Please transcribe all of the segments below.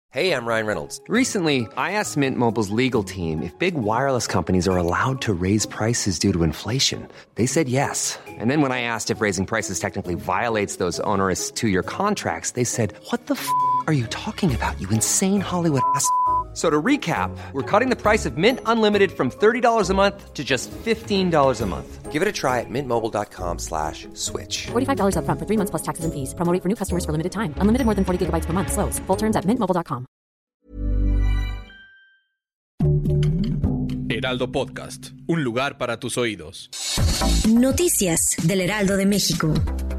Hey, I'm Ryan Reynolds. Recently, I asked Mint Mobile's legal team if big wireless companies are allowed to raise prices due to inflation. They said yes. And then when I asked if raising prices technically violates those onerous two-year contracts, they said, "What the f*** are you talking about, you insane Hollywood ass?" So to recap, we're cutting the price of Mint Unlimited from $30 a month to just $15 a month. Give it a try at mintmobile.com/switch. $45 up front for 3 months plus taxes and fees. Promo rate for new customers for limited time. Unlimited more than 40 gigabytes per month. Slows full terms at mintmobile.com. Heraldo Podcast, un lugar para tus oídos. Noticias del Heraldo de México.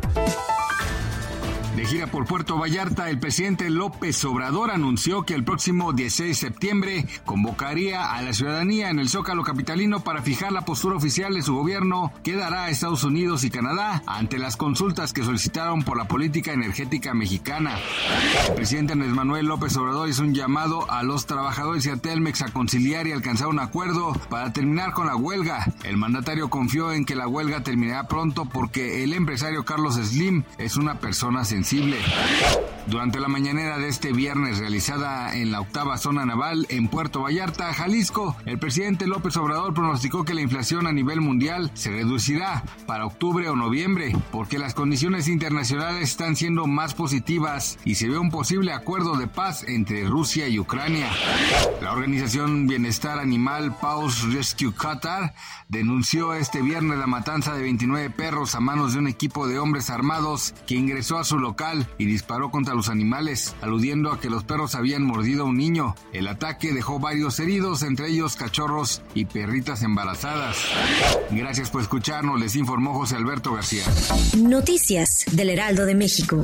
De gira por Puerto Vallarta, el presidente López Obrador anunció que el próximo 16 de septiembre convocaría a la ciudadanía en el Zócalo capitalino para fijar la postura oficial de su gobierno que dará a Estados Unidos y Canadá ante las consultas que solicitaron por la política energética mexicana. El presidente Andrés Manuel López Obrador hizo un llamado a los trabajadores y a Telmex a conciliar y alcanzar un acuerdo para terminar con la huelga. El mandatario confió en que la huelga terminará pronto porque el empresario Carlos Slim es una persona sensible. Durante la mañanera de este viernes realizada en la 8ª Zona Naval en Puerto Vallarta, Jalisco, el presidente López Obrador pronosticó que la inflación a nivel mundial se reducirá para octubre o noviembre, porque las condiciones internacionales están siendo más positivas y se ve un posible acuerdo de paz entre Rusia y Ucrania. La organización Bienestar Animal Paws Rescue Qatar denunció este viernes la matanza de 29 perros a manos de un equipo de hombres armados que ingresó a su local y disparó contra los animales, aludiendo a que los perros habían mordido a un niño. El ataque dejó varios heridos, entre ellos cachorros y perritas embarazadas. Gracias por escucharnos, les informó José Alberto García. Noticias del Heraldo de México.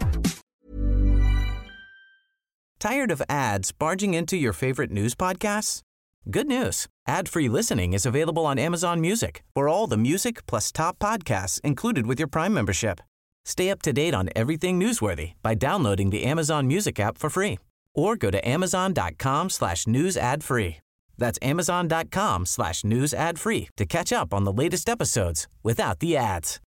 Tired of ads barging into your favorite news podcasts? Good news. Ad-free listening is available on Amazon Music for all the music plus top podcasts included with your Prime membership. Stay up to date on everything newsworthy by downloading the Amazon Music app for free or go to amazon.com/news ad free. That's amazon.com/news ad free to catch up on the latest episodes without the ads.